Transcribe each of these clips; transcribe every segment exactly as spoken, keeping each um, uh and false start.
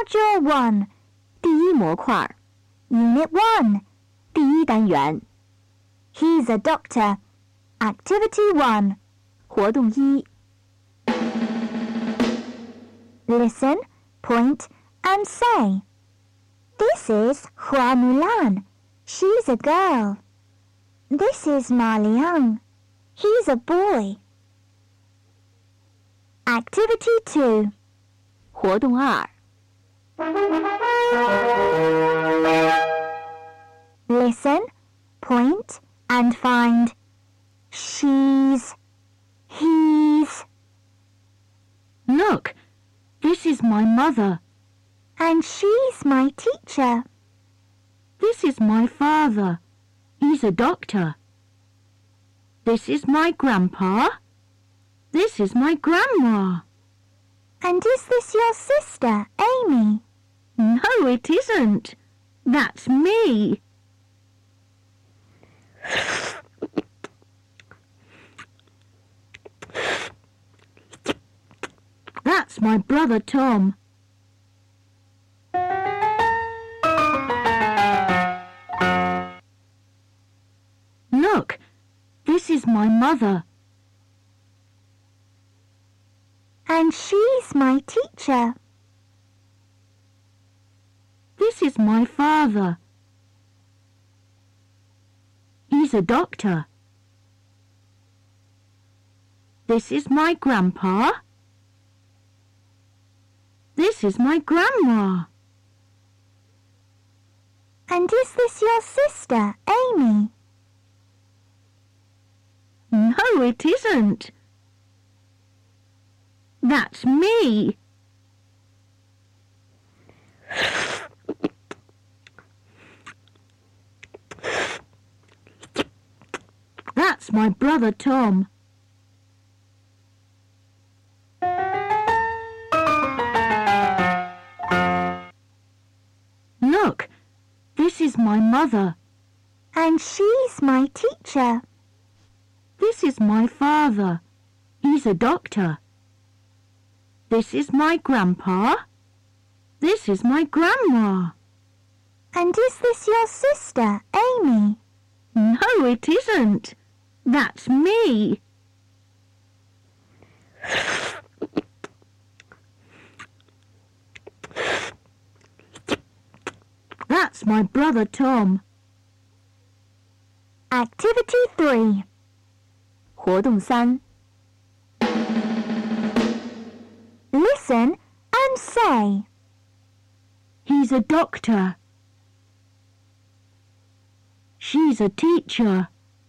Module one, 第一模块 Unit one. 第一单元 He's a doctor. Activity one. 活动一 Listen, point, and say. This is Hua Mulan. She's a girl. This is Ma Liang. He's a boy. Activity two. 活动二 Listen, point, and find. She's, he's, Look, this is my mother. and she's my teacher. This is my father. He's a doctor. This is my grandpa. This is my grandma. And is this your sister, Amy? No, it isn't. That's me. That's my brother Tom. Look, this is my mother. And she's my teacher. This is my father. He's a doctor. This is my grandpa. This is my grandma. And is this your sister, Amy? No, it isn't. That's me. That's my brother Tom. Look, this is my mother. And she's my teacher. This is my father. He's a doctor. This is my grandpa. This is my grandma. And is this your sister, Amy? No, it isn't. That's me. That's my brother Tom. Activity three. 活动三 Listen and say. He's a doctor. She's a teacher.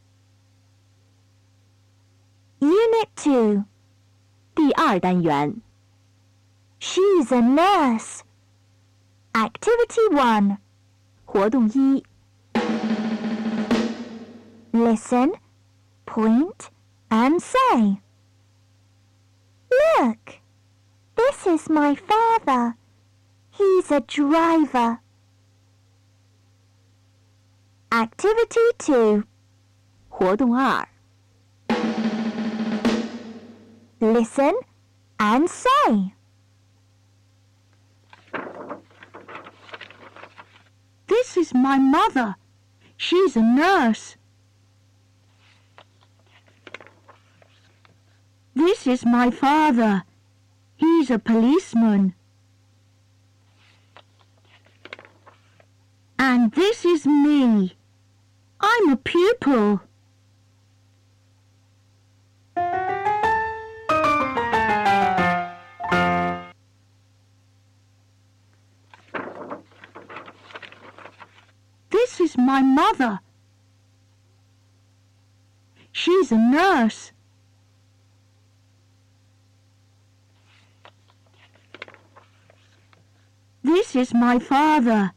Unit two. 第二单元 She's a nurse. Activity one. 活动一 Listen, point, and say. Look, this is my father. He's a driver. Activity two. 活动二 Listen and say. This is my mother. She's a nurse. This is my father. He's a policeman. And this is me. I'm a pupil. This is my mother. She's a nurse. This is my father.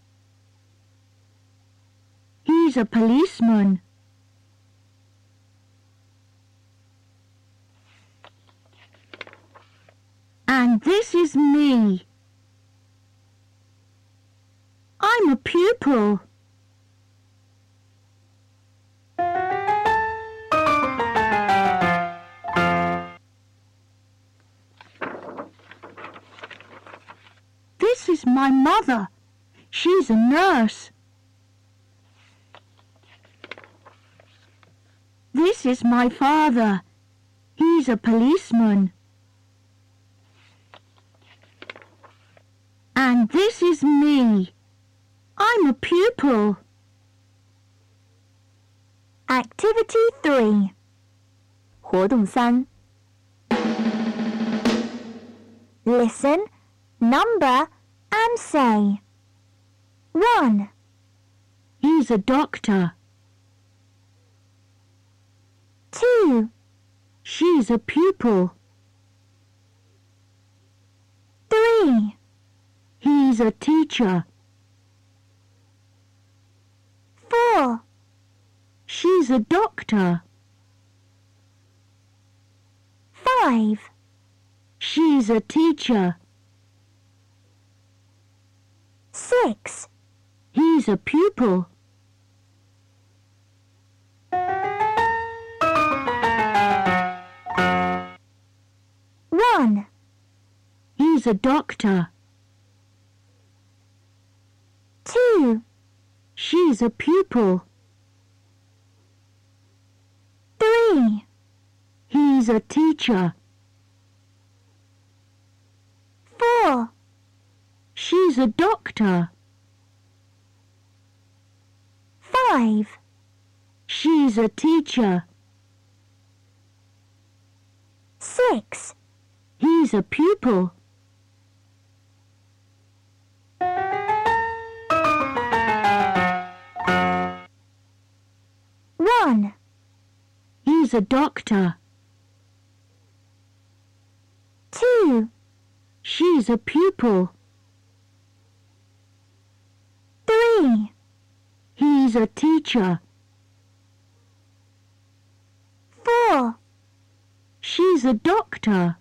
He's a policeman. And this is me. I'm a pupil. This is my mother. She's a nurse. This is my father. He's a policeman. And this is me. I'm a pupil. Activity three. 活动三 Listen, number, and say. One, He's a doctor. two, She's a pupil. three, He's a teacher. four, She's a doctor. five, She's a teacher. six, He's a pupil. one, He's a doctor. two, She's a pupil. three, He's a teacher. four, She's a doctor. five, She's a teacher. six, He's a pupil. one, He's a doctor. two, She's a pupil. three, He's a teacher. four, She's a doctor.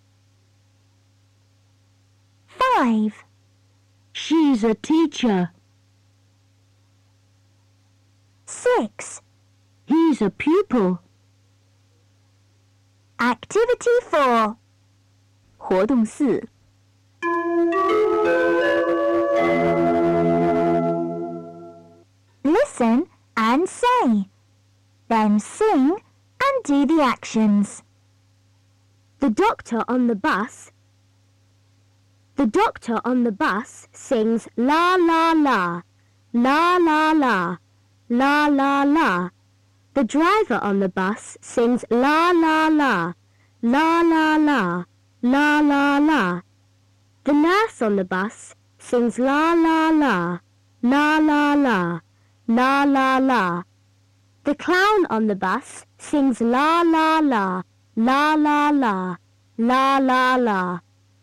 five, She's a teacher. six. He's a pupil. Activity four. 活动四 Listen and say. Then sing and do the actions. The doctor on the bus. The doctor on the bus sings la la la, la la la, la la la. The driver on the bus sings la la la, la la la, la la la. The nurse on the bus sings la la la, la la la, la la la. The clown on the bus sings la la la, la la la, la la la.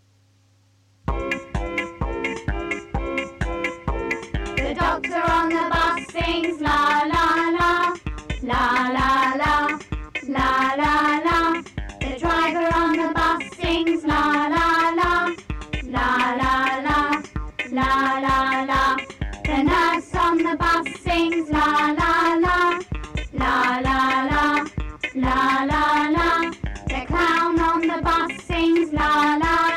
The doctor on the bus sings la la la, la la la, la la la. The driver on the bus sings la la la, la la la, la la la. The nurse on the bus sings la la la, la la la, la la la. The clown on the bus sings la la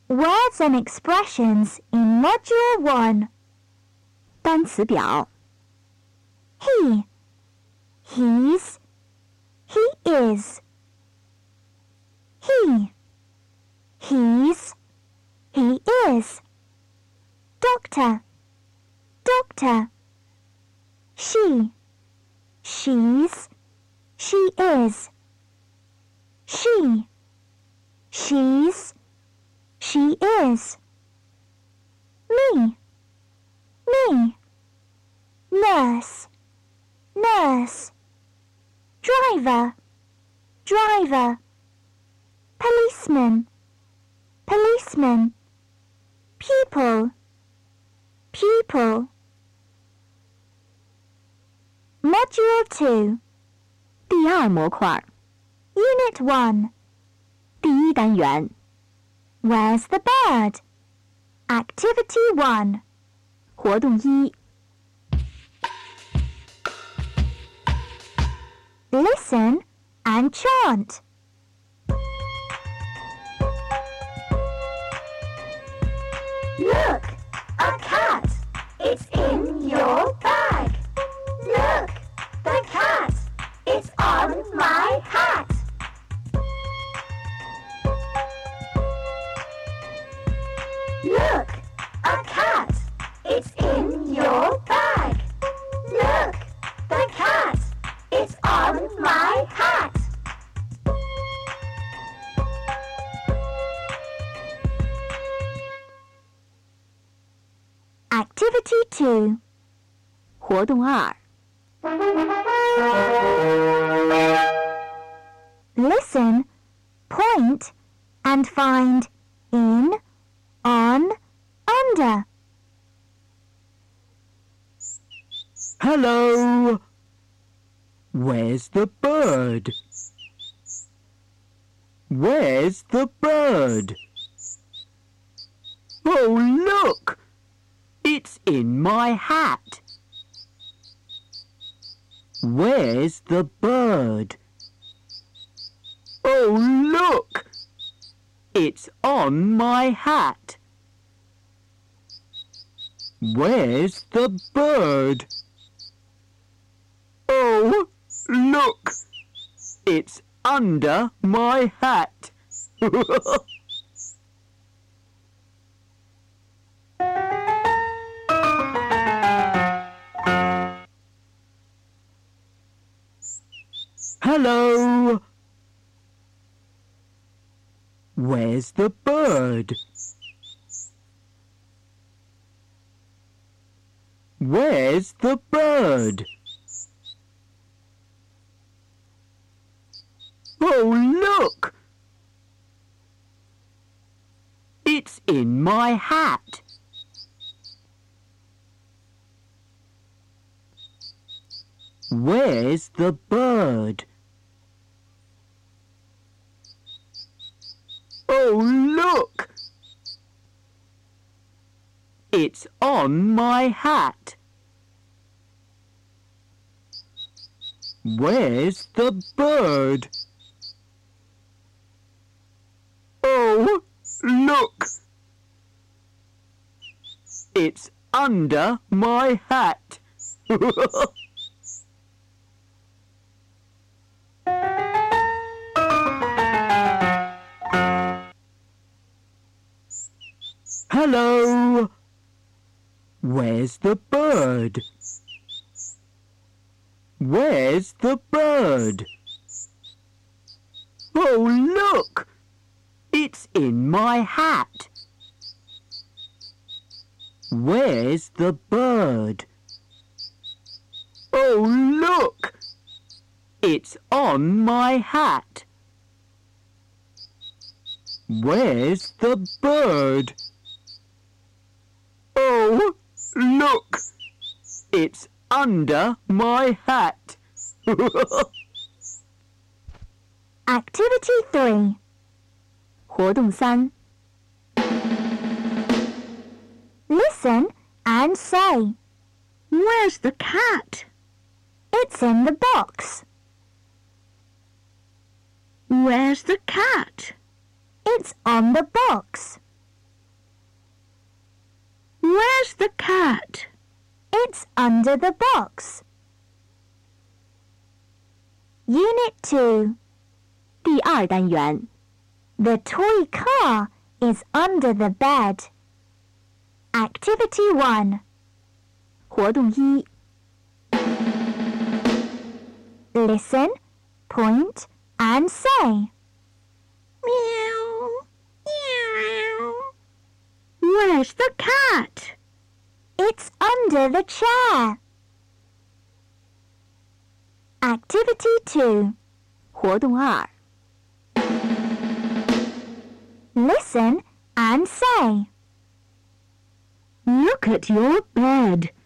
Words and expressions in Module one. 单词表 He. He's. He is. He. He's. He is. Doctor. Doctor. She. She's. She is. She. She's. She is. Me. Me. Nurse. Nurse. Driver. Driver. Policeman. Policeman. Pupil. Pupil. Module two. 第二模块 Unit one. 第一单元 Where's the bird? Activity one. 活动一 Listen and chant. Look, a cat. It's in your bag. Look, the cat. It's on my hat. Look, a cat. It's in your bag. Look, the cat. It's on my hat. Activity two. 活动二 Listen, point, and find in, on, under. Hello! Where's the bird? Where's the bird? Oh, look! It's in my hat. Where's the bird? Oh, look! It's on my hat. Where's the bird? Oh, look! It's under my hat. Hello! Where's the bird? Where's the bird? Oh, look! It's in my hat. Where's the bird? Oh, look! It's on my hat. Where's the bird? Oh, look! It's under my hat. Hello! Where's the bird? Where's the bird? Oh, look! It's in my hat. Where's the bird? Oh, look! It's on my hat. Where's the bird? Oh, look! It's under my hat. Activity three. 活动三 Listen and say. Where's the cat? It's in the box. Where's the cat? It's on the box. Where's the cat? It's under the box. Unit two. 第二单元 The toy car is under the bed. Activity one. 活动一 Listen, point, and say. Meow. Meow. Where's the cat? It's under the chair. Activity two. 活动二 Listen and say. Look at your bed.